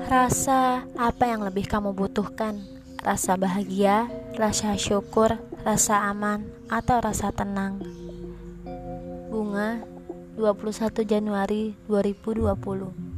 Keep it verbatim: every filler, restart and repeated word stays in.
Rasa apa yang lebih kamu butuhkan? Rasa bahagia, rasa syukur, rasa aman, atau rasa tenang? Bunga, dua puluh satu Januari dua ribu dua puluh.